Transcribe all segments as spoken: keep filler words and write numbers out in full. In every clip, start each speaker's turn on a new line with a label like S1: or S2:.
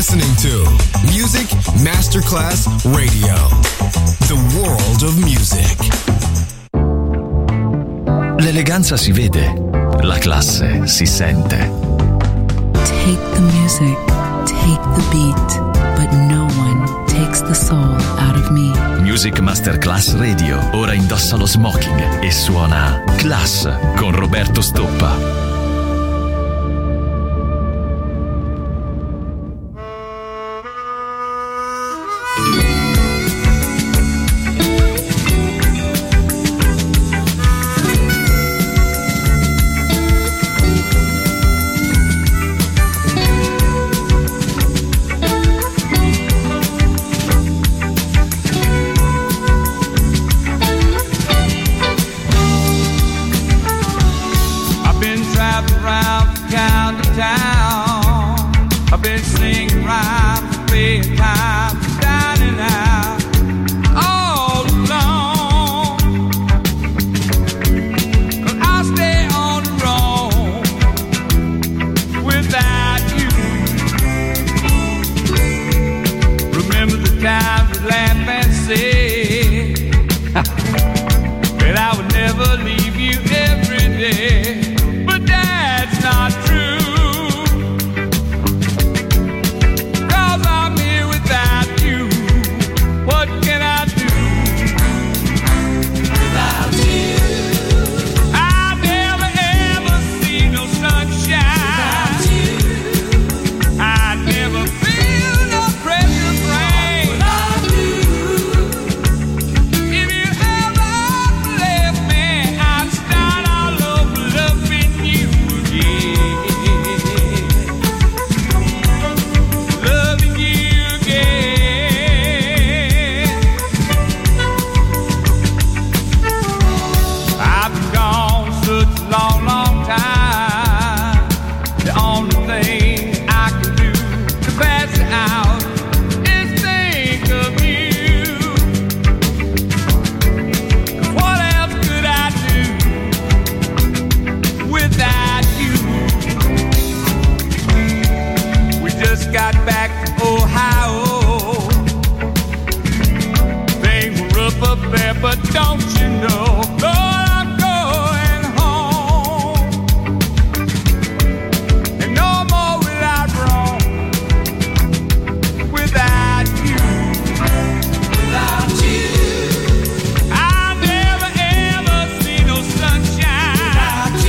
S1: listening to Music Masterclass Radio, the world of music.
S2: L'eleganza si vede, la classe si sente.
S3: Take the music, take the beat, but no one takes the soul out of me.
S2: Music Masterclass Radio ora indossa lo smoking e suona Class con Roberto Stoppa.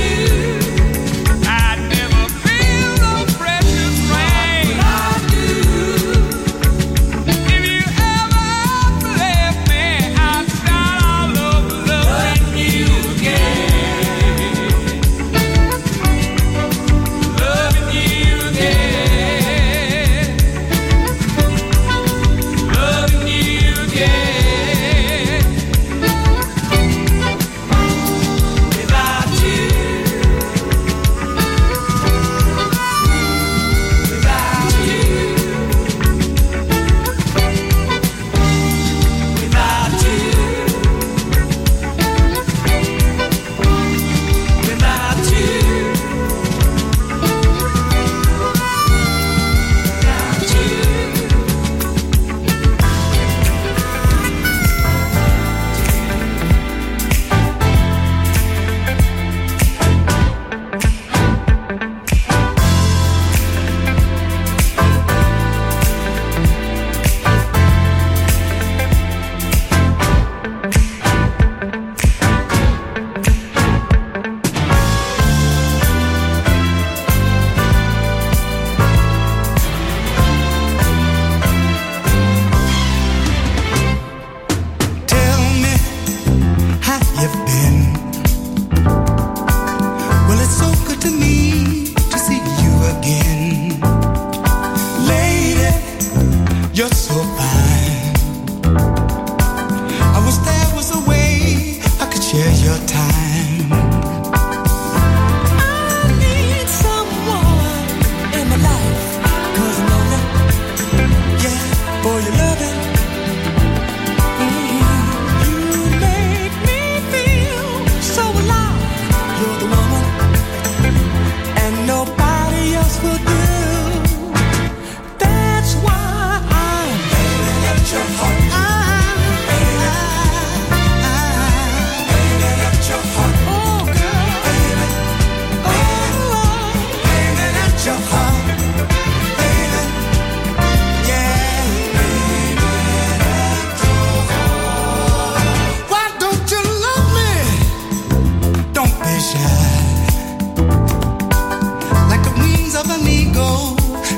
S4: Do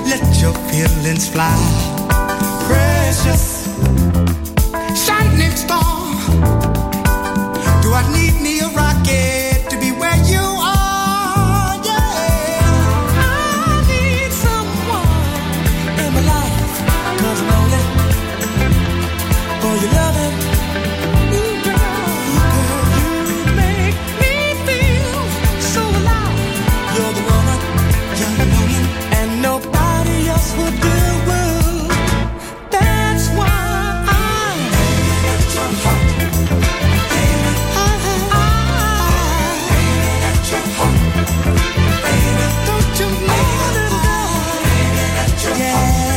S4: let your feelings fly. Precious, shining star, do I need me a rocket to be where you are? Yeah, I need someone in my life, 'cause I'm lonely for your loving. Ooh, girl, girl, you make me feel so alive. You're the woman, you're the woman, and nobody else would do. That's why I'm at your heart. Don't you know that? Yeah.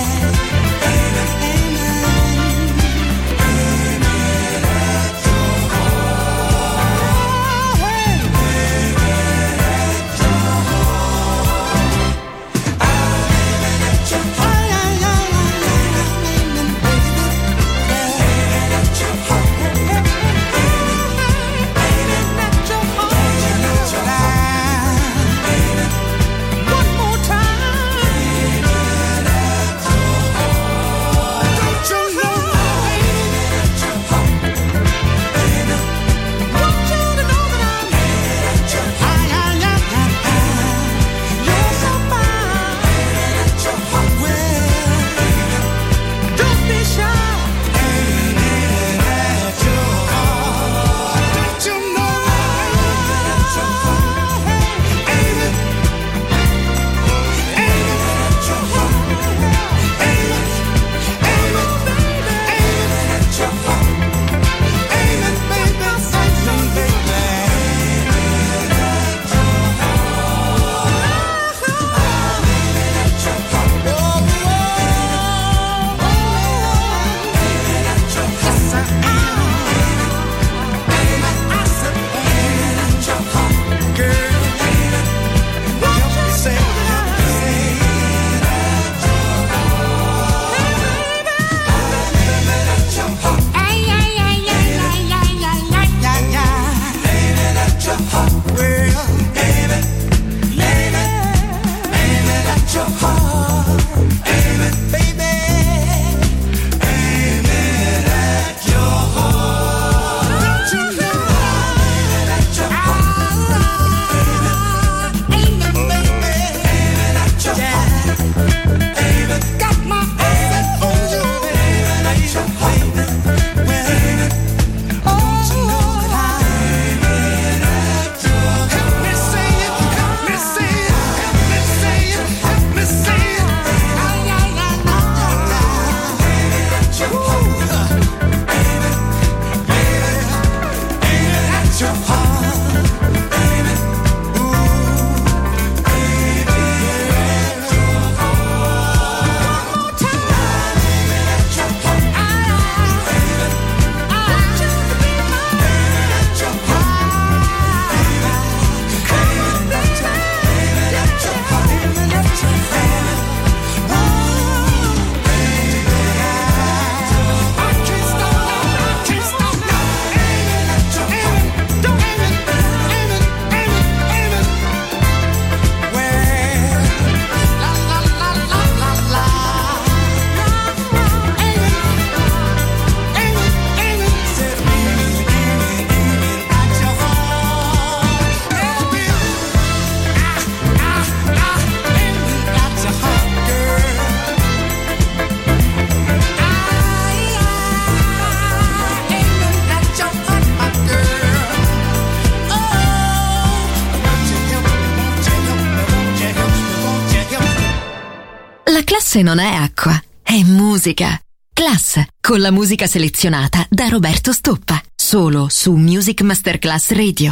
S5: Classe non è acqua, è musica. Class, con la musica selezionata da Roberto Stoppa. Solo su Music Masterclass Radio.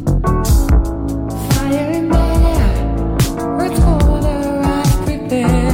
S6: Fire in there, earth, water, I prepare.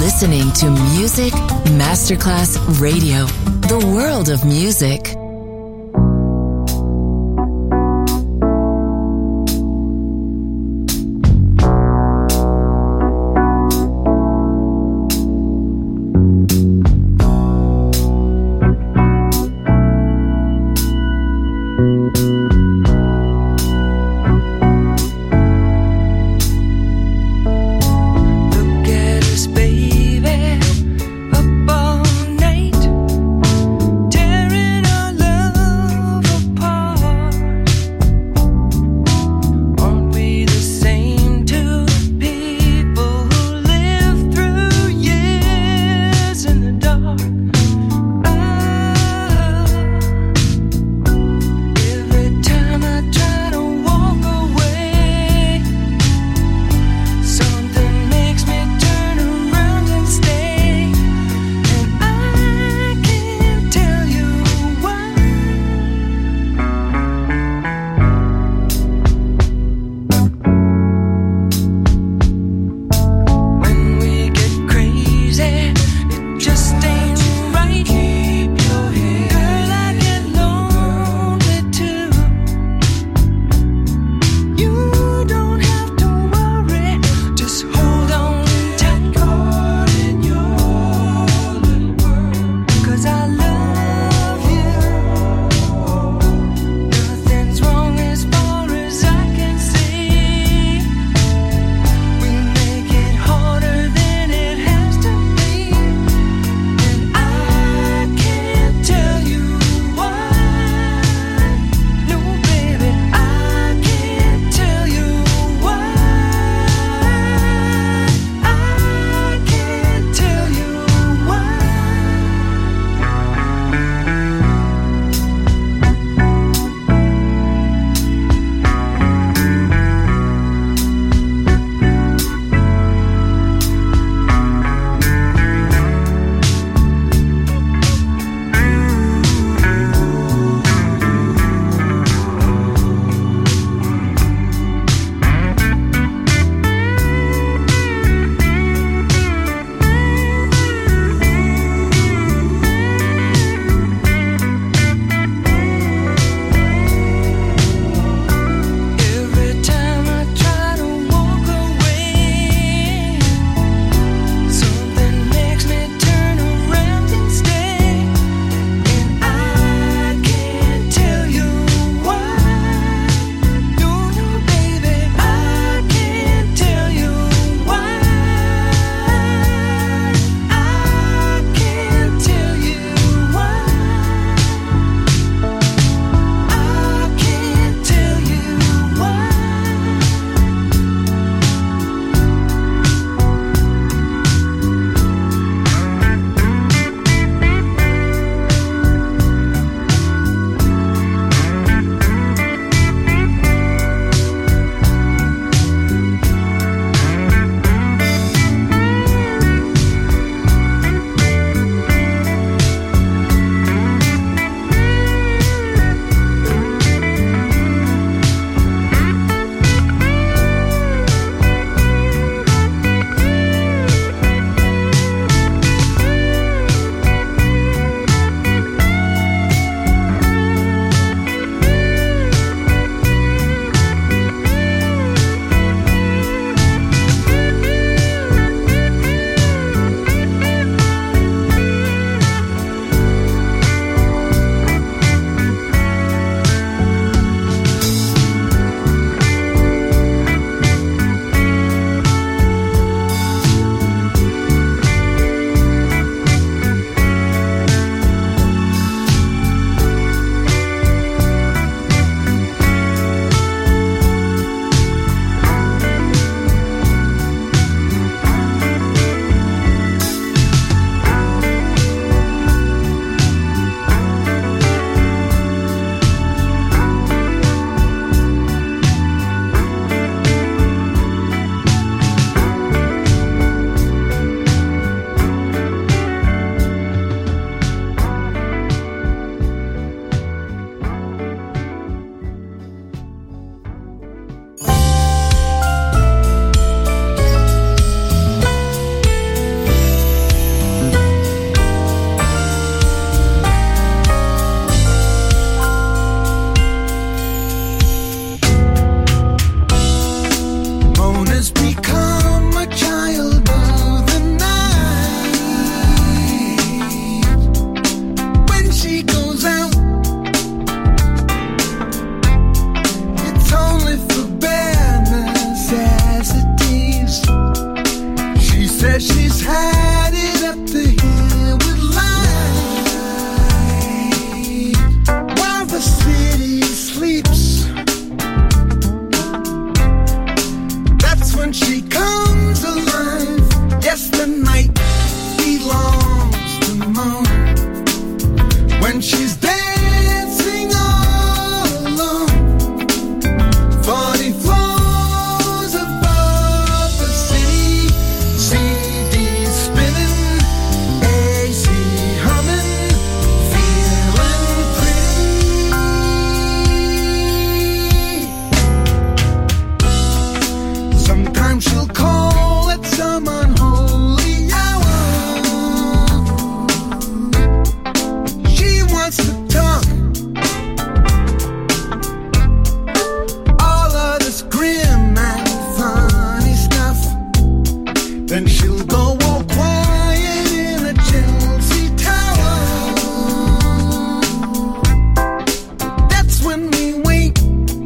S3: listening to Music Masterclass Radio, the world of music.
S4: Baby, up all night, tearing our Then she'll go all quiet in a Chelsea tower. That's when we wait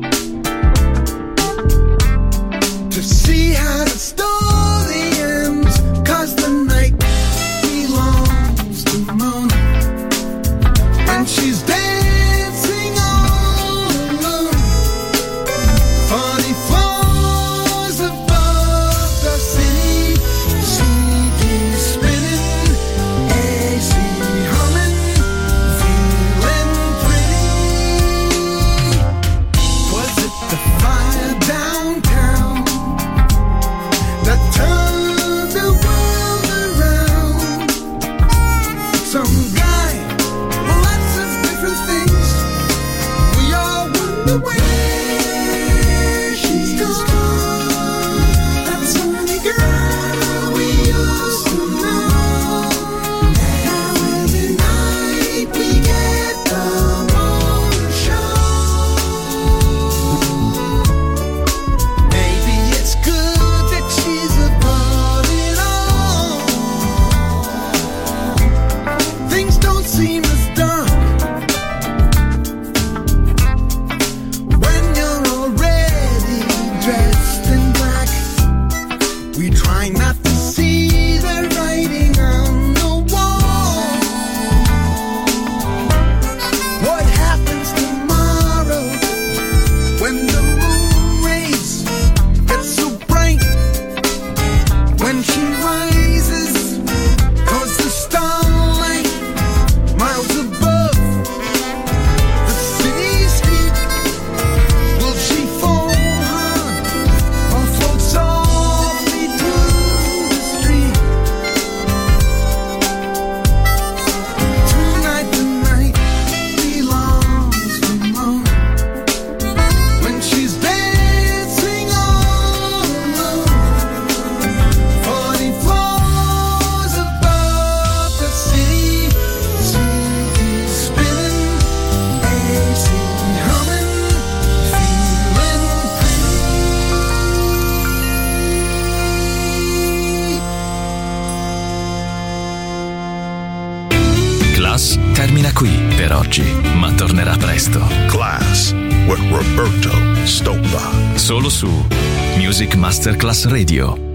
S4: to see how the story ends, 'cause the night belongs to Mona. And she's dancing all alone, forty floors above the city, C D spinning, A C humming, feeling pretty. Was it the fire downtown that turned the world around? Some guy, lots of different things. We all wonder where she's gone. That sunny girl we used to know. Every night we get the Mona Show. Maybe it's good that she's above it all. Things don't seem as dark when you're already dressed in black. We try not to see the writing on the wall. What happens tomorrow when the moon rays get so bright? When she rises, 'cause the starlight miles above the city's heat. Will she fall hard or float softly through the street? Tonight the night belongs to Mona. When she's dancing all alone, forty floors above the city, C D spinning, A C humming, feeling free.
S2: Class termina qui per oggi, ma tornerà presto.
S6: Class with Roberto Stoppa.
S2: Solo su Music Masterclass Radio.